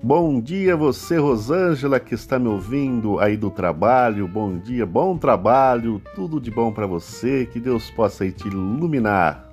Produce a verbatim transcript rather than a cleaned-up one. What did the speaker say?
Bom dia você, Rosângela, que está me ouvindo aí do trabalho. Bom dia, bom trabalho, tudo de bom para você, que Deus possa aí te iluminar.